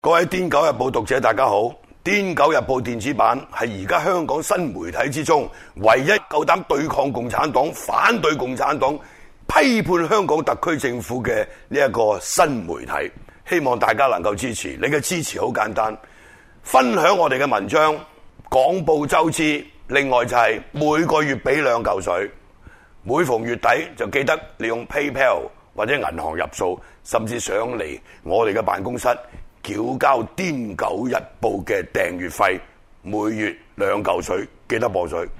各位《癲狗日報》讀者大家好，《癲狗日報》電子版係而家香港新媒體之中唯一夠膽對抗共產黨、反對共產黨、批判香港特區政府嘅呢一個新媒體，希望大家能夠支持。你嘅支持好簡單，分享我哋嘅文章，廣報周知。另外就係每個月俾2嚿水，每逢月底就記得利用 PayPal 或者銀行入數，甚至上嚟我哋嘅辦公室繳交《癲狗日報》嘅訂閱費，每月2嚿水，記得報水。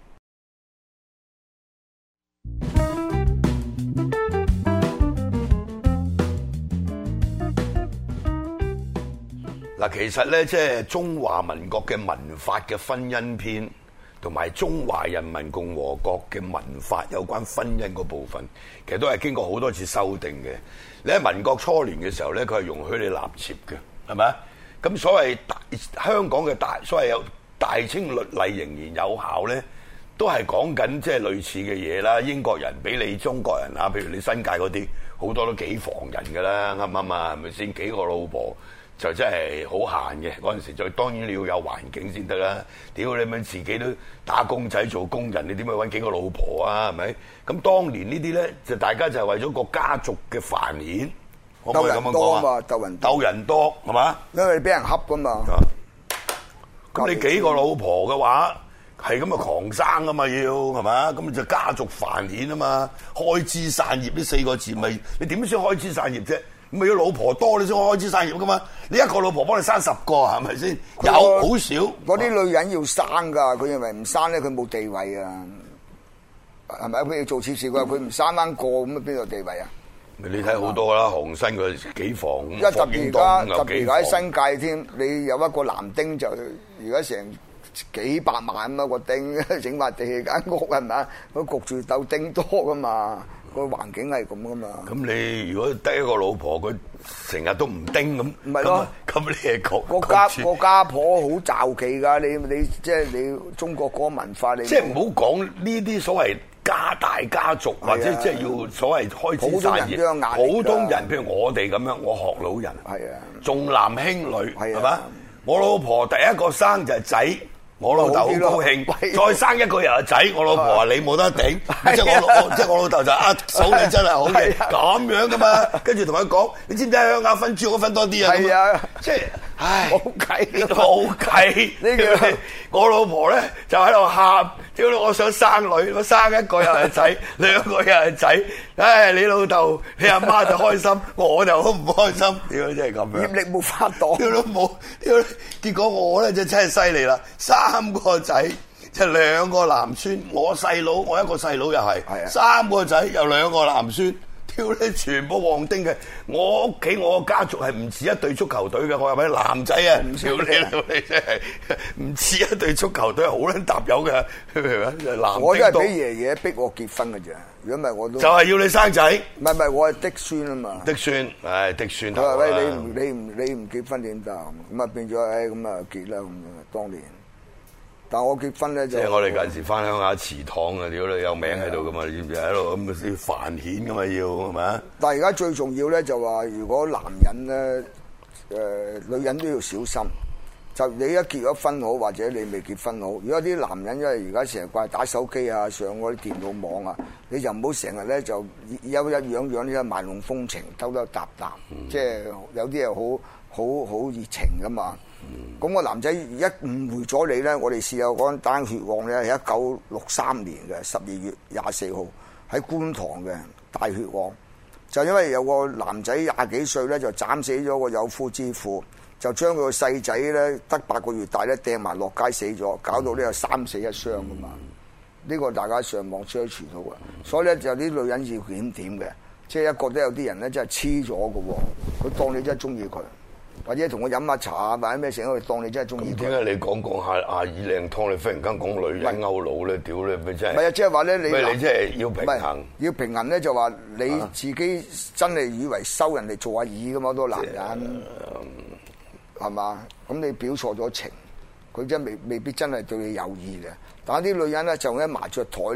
嗱，其實咧，即係中華民國嘅民法嘅婚姻篇，同埋中華人民共和國嘅民法有關婚姻嗰部分，其實都係經過好多次修訂嘅。你喺民國初年嘅時候咧，佢係容許你納妾嘅，係咪啊？咁所謂香港嘅所謂有大清律例仍然有效咧，都係講緊即係類似嘅嘢啦。英國人俾你中國人啊，譬如你新界嗰啲好多都幾房人㗎啦，啱唔啱啊？係咪先？幾個老婆就真係好閒嘅嗰陣時，就當然你要有環境先得啦。屌你咪自己都打工仔做工人，你點去揾幾個老婆啊？係咪？咁當年呢啲咧，就大家就係為咗個家族嘅繁衍，可唔可以咁樣講啊？鬥人多係嘛？ 因為你俾人恰噶嘛。 咁你幾個老婆嘅話，係咁啊狂生啊嘛，要係嘛？咁就家族繁衍啊嘛，開枝散葉呢4個字咪你點先開枝散葉啫？咪要老婆多你先開枝散葉噶嘛？你一個老婆幫你生10個係咪先？有好少嗰啲女人要生噶，佢認為唔生咧佢冇地位啊，係咪？佢要做妾侍佢唔生翻個咁啊，邊度地位啊？ 你睇好多啦，韓新佢幾房， 一特別而家喺新界添，你有一個男丁就而家成幾百萬咁啊個丁，整埋地間屋係咪啊？佢焗住鬥丁多噶嘛。個環境係咁噶嘛？ 咁你如果得一個老婆，佢成日都唔叮咁， 唔係咯？ 咁你係個家婆好罩忌噶，你即係你中國嗰個文化，你即係唔好講呢啲所謂家大家族，或者即係要所謂開枝散葉。普通人譬如我哋咁樣，我學老人， 係啊，重男輕女係嘛？我老婆第一個生就係仔。我老豆好高興，再生一個又係仔，我老婆話你冇得頂，即係我老豆就嫂你真係好嘅，咁樣噶嘛，跟住同佢講，你知唔知鄉下分豬肉分多啲啊？係啊，即係，唉，冇計，呢個我老婆咧就喺度喊，屌你，我想生女，我生一個又係仔，2個又係仔，唉，你老豆你阿媽就開心，我就好唔開心，屌真係咁樣， 業力冇法擋， 屌都冇，屌，結果我咧就真係犀利啦，3個仔就2個男孫，我細佬我一個細佬又係，3個仔又2個男孫，屌你全部旺丁嘅。我屋企我個家族係唔似一隊足球隊嘅，我係咪男仔啊？唔少你真係唔似一隊足球隊，好撚搭友嘅，明唔明啊？ 我真係俾爺爺逼我結婚嘅啫，如果唔係我都就係要你生仔。 唔係我係嫡孫啊嘛。嫡孫， 係嫡孫。 佢話喂，你唔結婚點得？咁啊變咗咁啊結啦咁樣當年。但我結婚咧就即係我哋近時翻鄉下祠堂啊，屌你有名喺度噶嘛？你知唔知喺度咁先繁衍噶嘛？要係咪？ 但係而家最重要咧就話，如果男人咧女人都要小心。就你一結咗婚好，或者你未結婚好。如果啲男人因為而家成日掛打手機啊，上嗰啲電腦網啊，你就唔好成日咧就有一樣咧賣弄風情，兜搭，即係有啲係好熱情噶嘛。咁個男仔一誤會咗你咧，我哋試下講單血案咧，係1963年嘅12月24號喺觀塘嘅大血案，就因為有個男仔20幾歲咧，就斬死咗個有夫之婦，就將佢個細仔咧得8個月大咧掟埋落街死咗，搞到呢個3死1傷噶嘛。呢個大家上網 search 到嘅，所以咧就啲女人要檢點嘅，即係一覺得有啲人咧真係黐咗嘅喎，佢當你真係中意佢。或者同我飲下茶啊，或者咩成日當你真係中意。 點解你講下阿耳靚湯，你忽然間講女人勾佬咧？屌你咪真係！ 唔係啊，即係話咧，你即係要平衡。 要平衡咧，就話你自己真係以為收人哋做阿耳咁嘛？多男人係嘛？咁你表錯咗情，佢真未必真係對你有意嘅。但係啲女人咧就一麻雀台咧，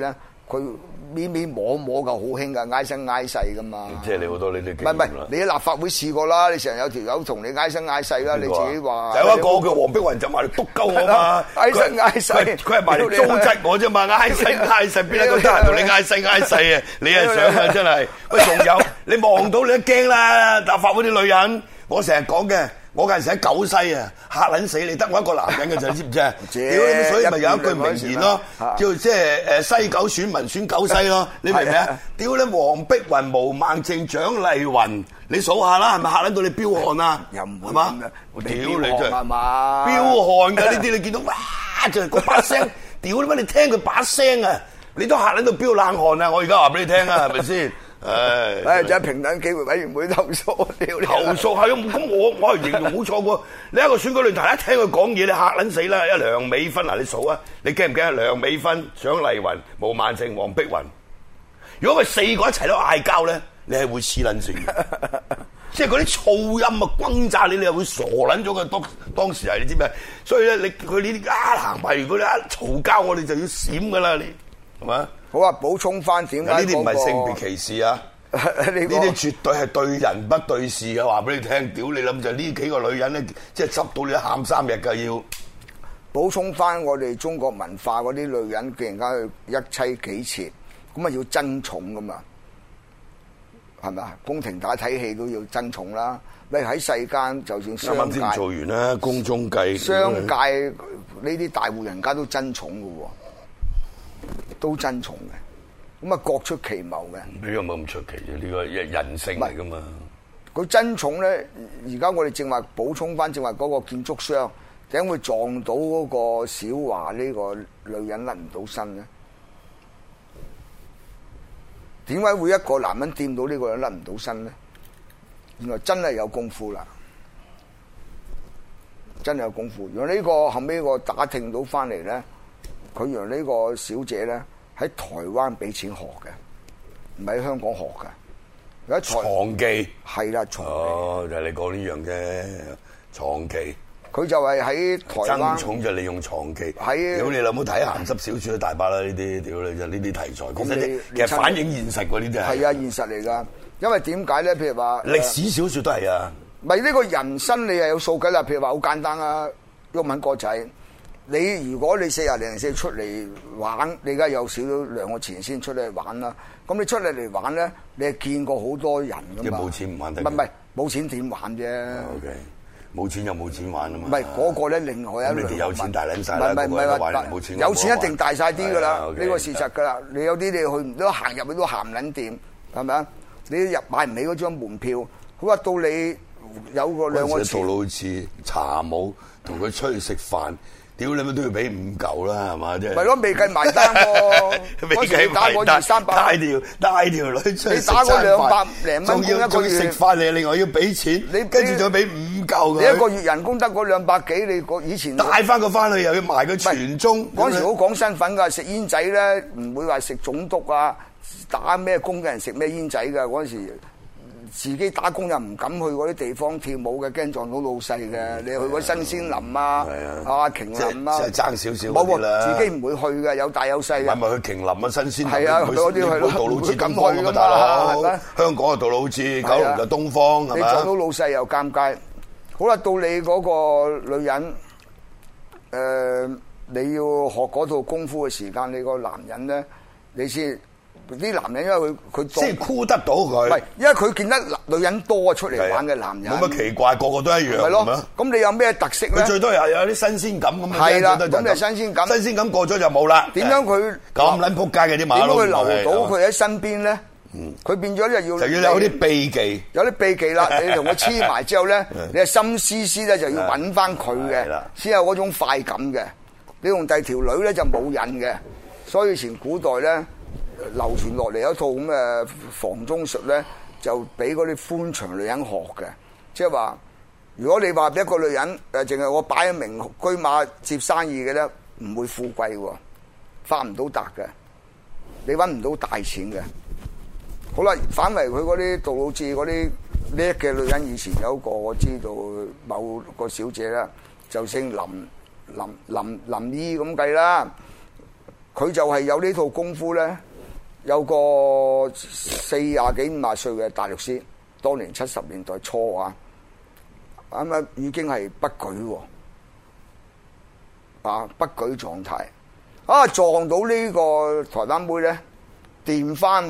佢咪咪摸摸就好興噶，挨生挨世噶嘛。 即係你好多呢啲經驗啦。 唔係，你喺立法會試過啦，你成日有條友同你挨生挨世啦，你自己話。 有一個叫黃碧雲就埋嚟督鳩我嘛， 挨生挨世， 佢係埋嚟糟質我啫嘛，挨生挨世邊一個得閒同你挨生挨世啊？你係想啊真係。喂，仲有你望到你都驚啦，立法會啲女人，我成日講嘅。我嗰陣時喺九西啊，嚇撚死你，得我一個男人嘅啫，知唔知啊？屌你，所以咪有一句名言咯，叫即係西九選民選九西咯，你明唔明啊？屌你，黃碧雲、毛孟靜、蔣麗芸，你數下啦，係咪嚇撚到你飆汗啊？ 又唔會係嘛？屌你真係飆汗㗎呢啲，你見到哇就係嗰把聲，屌你乜？你聽佢把聲啊，你都嚇撚到飆冷汗啊！我而家話俾你聽啊，係咪先？ 就係平等機會委員會投訴， 投訴係咁我係形容冇錯喎。你一個選舉論壇一聽佢講嘢，你嚇撚死啦！一梁美芬嗱，你數啊，你驚唔驚啊？梁美芬、蔣麗芸、毛孟靜、黃碧雲，如果佢四個一齊都嗌交咧，你係會黐撚線嘅，即係嗰啲噪音啊轟炸你，你係會傻撚咗嘅。當時係你知咩？所以咧，佢呢啲行埋，如果你一嘈交，我哋就要閃噶啦，你係嘛？ 好啊，補充翻點解呢啲唔係性別歧視啊！呢啲絕對係對人不對事嘅，話俾你聽。屌你諗就呢幾個女人咧，即係執到你喊3日㗎要。 補充翻我哋中國文化嗰啲女人，既然間去一妻幾妾，咁啊要爭寵噶嘛，係咪啊？宮廷打睇戲都要爭寵啦。你喺世間就算商界，啱啱先做完啦，宮中計。 商界呢啲大戶人家都爭寵嘅喎。都爭寵嘅，咁啊各出奇謀嘅。呢個冇咁出奇啫，呢個人性嚟噶嘛。佢爭寵咧，而家我哋正話補充翻，正話嗰個建築商點會撞到嗰個小華呢個女人甩唔到身咧？點解會一個男人掂到呢個人甩唔到身咧？原來真係有功夫啦，真係有功夫。原來呢個後尾我打聽到翻嚟咧。佢讓呢個小姐咧喺台灣俾錢學嘅，唔喺香港學嘅。有一床技係啦，床技哦，就係你講呢樣啫，床技。佢就係喺台灣爭寵就利用床技。係屌你有冇睇鹹濕小說大把啦？呢啲屌你就呢啲題材。咁其實反映現實喎，呢啲係。係啊，現實嚟㗎。因為點解咧？譬如話歷史小說都係啊。咪呢個人生你係有數計啦。譬如話好簡單啊，毓民哥仔。你如果你40-04出嚟玩，你而家有少少2個錢先出嚟玩啦。咁你出嚟玩咧，你係見過好多人噶嘛？冇錢唔玩得。唔係冇錢點玩啫 ？OK，冇錢又冇錢玩啊嘛。唔係嗰個咧，另外一樣。咁你哋有錢大撚晒啦，唔係話冇錢。有錢一定大晒啲噶啦，呢個事實噶啦。你有啲你去唔到行入去都行唔撚掂，係咪啊？你入買唔起嗰張門票，好話到你有個2個錢。到好似茶舞同佢出去食飯。屌你乜都要俾5嚿啦，係嘛？即係咪咯？未計埋單喎，未計打個200-300，帶條女出去食餐飯，你打個200零蚊一個月食飯，你另外要俾錢，你跟住再俾5嚿佢。你一個月人工得嗰200幾，你以前帶翻個翻去又要埋個全中。嗰陣時好講身份㗎，食煙仔咧唔會話食總督啊，打咩工嘅人食咩煙仔㗎嗰陣時。自己打工又唔敢去嗰啲地方跳舞嘅，驚撞到老細嘅。你去嗰新鮮林啊，啊瓊林啊，即係爭少少啲啦。自己唔會去嘅，有大有細嘅。咪去瓊林啊，新鮮林。係啊，去嗰啲去咯。杜老誌東方咁大佬，係咪？香港啊，杜老誌，九龍就東方，係咪？你撞到老細又尷尬。好啦，到你嗰個女人，你要學嗰套功夫嘅時間，你個男人咧，你先。啲男人因為佢即係箍得到佢，唔係因為佢見得女人多出嚟玩嘅男人，冇乜奇怪，個個都一樣，係咯。咁你有咩特色咧？佢最多又有啲新鮮感咁樣，係啦，咁就新鮮感。新鮮感過咗就冇啦。點樣佢咁撚撲街嘅啲馬騮？點樣佢留到佢喺身邊咧？佢變咗咧就要有啲秘技，有啲秘技啦。你同佢黐埋之後咧，你係心思思咧就要揾翻佢嘅，先有嗰種快感嘅。你用第二條女咧就冇癮嘅，所以以前古代咧。流傳落嚟一套咁嘅房中術咧，就俾嗰啲寬長女人學嘅，即係話，如果你話一個女人淨係我擺一名車馬接生意嘅咧，唔會富貴喎，發唔到達嘅，你揾唔到大錢嘅。好啦，反為佢嗰啲杜老誌嗰啲叻嘅女人，以前有一個我知道某個小姐啦，就姓林姨咁計啦，佢就係有呢套功夫咧。 有個40幾50歲嘅大律師，當年70年代初啊，咁啊已經係不舉喎，啊不舉狀態，啊撞到呢個台灣妹咧，掂翻，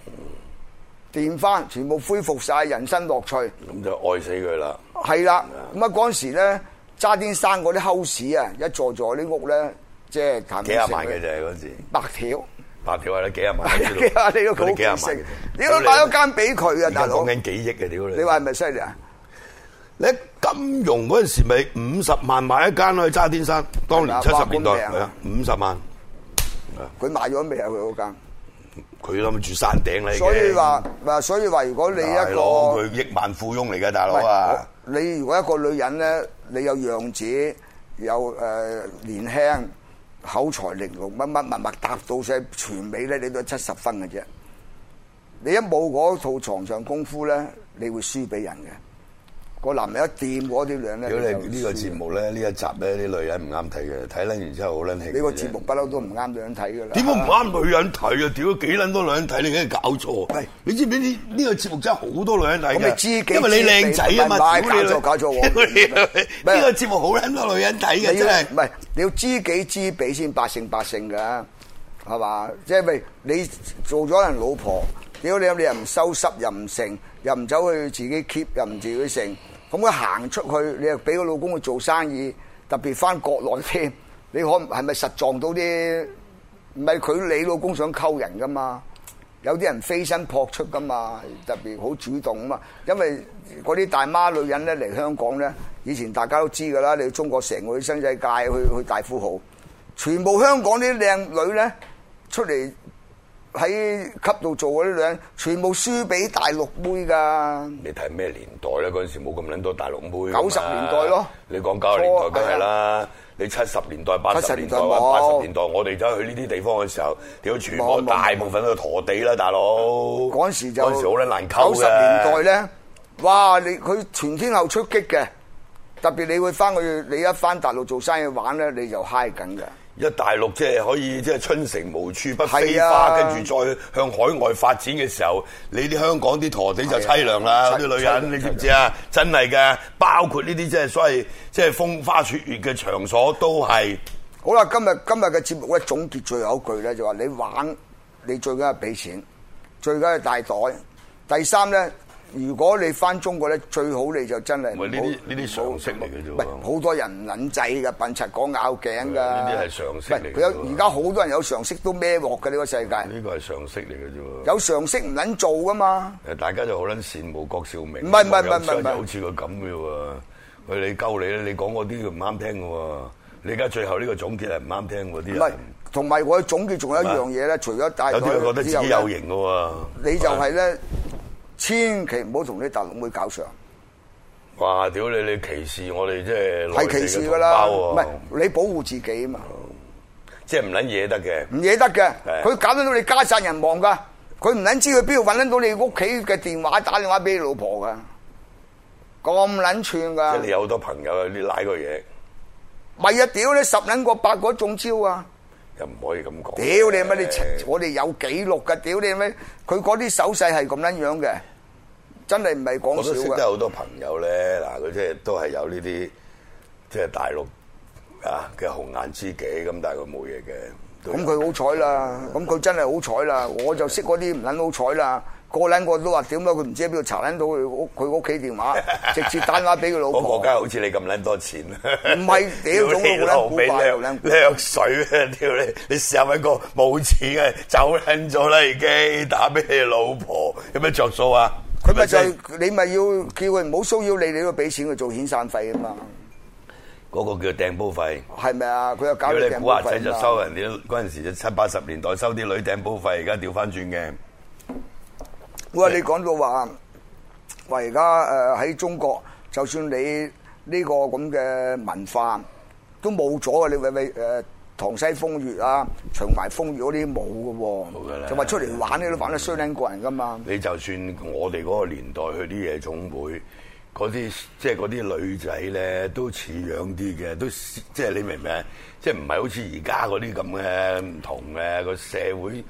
全部恢復晒人生樂趣， 咁就愛死佢啦。 係啦，咁啊嗰陣時咧，渣甸山嗰啲 house 啊，一座座啲屋咧，即係談幾廿萬嘅啫嗰時， 白條。 白條係啦，幾廿萬。 你都好幾識，你都買咗間俾佢啊，大佬。 講緊幾億嘅屌你！ 你話係咪犀利啊？ 你金融嗰陣時咪50萬買一間去渣甸山，當年70年代係啊，50萬。 佢賣咗未啊？佢嗰間？ 佢諗住山頂啦。 所以話，如果你一個佢億萬富翁嚟嘅大佬啊！ 你如果一個女人咧，你有樣子，有年輕。口才玲瓏乜乜物答到晒全美咧，你都係70分嘅啫。你一冇嗰套床上功夫咧，你會輸俾人嘅。個男人一掂嗰啲女人咧， 如果你呢個節目咧，呢一集咧啲女人唔啱睇嘅，睇撚完之後好撚氣。 呢個節目不嬲都唔啱女人睇㗎啦。點解唔啱女人睇啊？屌幾撚多女人睇，你梗係搞錯。喂，你知唔知呢個節目真係好多女人睇嘅？因為你靚仔啊嘛。搞錯。呢個節目好撚多女人睇嘅，真係。 唔係你要知己知彼先百勝百勝㗎，係嘛？即係咪你做咗人老婆？屌你又唔收拾又唔成，又唔走去自己 keep 又唔自己成。咁佢行出去，你又俾個老公去做生意，特別翻國內添，你係咪實撞到啲？唔係佢你老公想溝人噶嘛？有啲人飛身撲出噶嘛，特別好主動啊嘛。因為嗰啲大媽女人咧嚟香港咧，以前大家都知噶啦，你中國成個新世界去大富豪，全部香港啲靚女咧出嚟。喺級度做嗰啲女人，全部輸俾大陸妹噶。 你睇咩年代咧？嗰陣時冇咁撚多大陸妹。 90年代咯。 你講90年代梗係啦。你70年代、80年代或80年代，我哋走去呢啲地方嘅時候，屌全部大部分都陀地啦，大佬。嗰陣時好撚難溝嘅。90 年代咧，哇！佢全天候出擊嘅，特別你會翻去，你一翻大陸做生意玩咧，你就嗨緊嘅。 一大陸即係可以即係春城無處不飛花，跟住再向海外發展嘅時候，你啲香港啲陀地就凄涼啦，啲女人你知唔知啊？真係嘅，包括呢啲即係所謂即係風花雪月嘅場所都係。 好啦，今日嘅節目咧總結最後一句咧就話你玩，你最緊係俾錢，最緊係帶袋。第三咧。如果你翻中國咧，最好你就真係唔好呢啲常識嚟嘅啫。 唔係好多人唔撚制㗎，笨柒講拗頸㗎。 呢啲係常識嚟。 而家好多人有常識都孭鑊嘅呢個世界。 呢個係常識嚟嘅啫。 有常識唔撚做㗎嘛？ 大家就好撚羨慕郭兆明。 唔係， 好似佢咁嘅喎。佢你鳩你咧，你講嗰啲唔啱聽嘅喎。你而家最後呢個總結係唔啱聽嗰啲。唔係，同埋我總結仲有一樣嘢咧，除咗大有啲覺得自己有型嘅喎。 你就係咧。千祈唔好同啲大陸妹搞上。 哇！屌你歧視我哋即係歧視㗎啦，唔係你保護自己啊嘛。 即係唔撚嘢得嘅。唔嘢得嘅，佢搞到你家散人亡㗎。佢唔撚知佢邊度揾得到你屋企嘅電話打電話俾你老婆㗎。咁撚串㗎。 即係你有好多朋友你拉個嘢。 咪啊！屌你10撚個8個中招啊！ 又唔可以咁講。 屌你乜你我哋有記錄㗎。屌你乜佢嗰啲手勢係咁撚樣嘅。真係唔係講笑嘅。我都識得好多朋友咧，嗱佢即係都係有呢啲即係大陸啊嘅紅顏知己咁，但係佢冇嘢嘅。 咁佢好彩啦，咁佢真係好彩啦。我就識嗰啲唔撚好彩啦，個撚個都話點解佢唔知喺邊度查撚到佢屋企電話，直接打電話俾佢老婆。 我國家好似你咁撚多錢。 唔係屌總好撚古怪， 掠水啊！屌你試下揾個冇錢嘅走撚咗啦，已經打俾你老婆，有咩着數啊？ 佢咪就係你咪要叫佢唔好騷擾你，你都俾錢佢做遣散費啊嘛。 嗰個叫掟煲費， 係咪啊？佢又搞你掟煲費。 古惑仔就收人哋嗰陣時就70、80年代收啲女掟煲費，而家調翻轉嘅。 喂，你講到話而家喺中國，就算你呢個咁嘅文化都冇咗啊！你喂塘西風月啊、長埋風月嗰啲冇嘅喎，就話出嚟玩你都玩得衰撚過人噶嘛。 你就算我哋嗰個年代去啲夜總會，嗰啲即係嗰啲女仔咧都似樣啲嘅，都即係你明唔明？即係唔係好似而家嗰啲咁嘅唔同嘅個社會，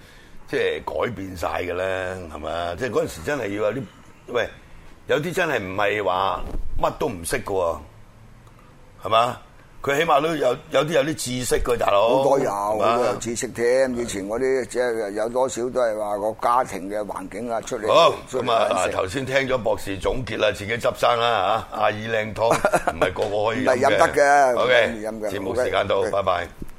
即係改變晒嘅咧，係嘛？即係嗰陣時真係要有啲，喂，有啲真係唔係話乜都唔識嘅喎，係嘛？佢起碼都有啲有啲知識嘅大佬， 好多有知識添。以前嗰啲即係有多少都係話個家庭嘅環境啊出嚟。 好咁啊！頭先聽咗博士總結啦，自己執生啦嚇，阿耳靚湯唔係個個可以飲嘅。 唔係飲得嘅。 OK， 飲嘅。 節目時間到，拜拜。